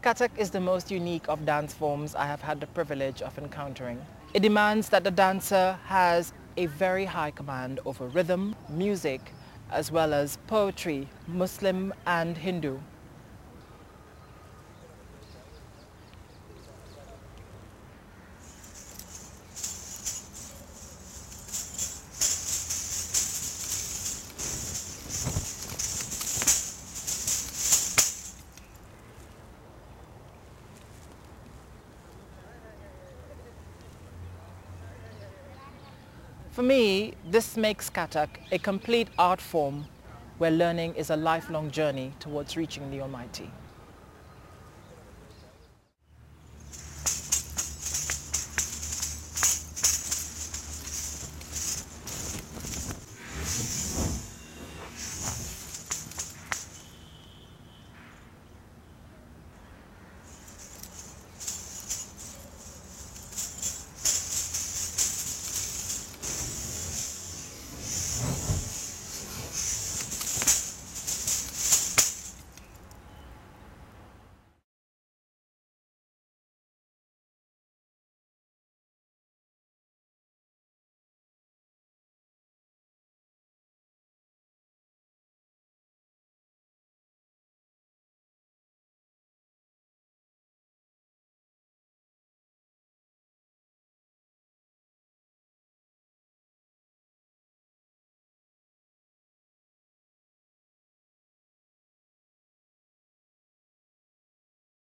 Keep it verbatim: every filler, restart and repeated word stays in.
Kathak is the most unique of dance forms I have had the privilege of encountering. It demands that the dancer has a very high command over rhythm, music, as well as poetry, Muslim and Hindu. For me, this makes Kathak a complete art form where learning is a lifelong journey towards reaching the Almighty.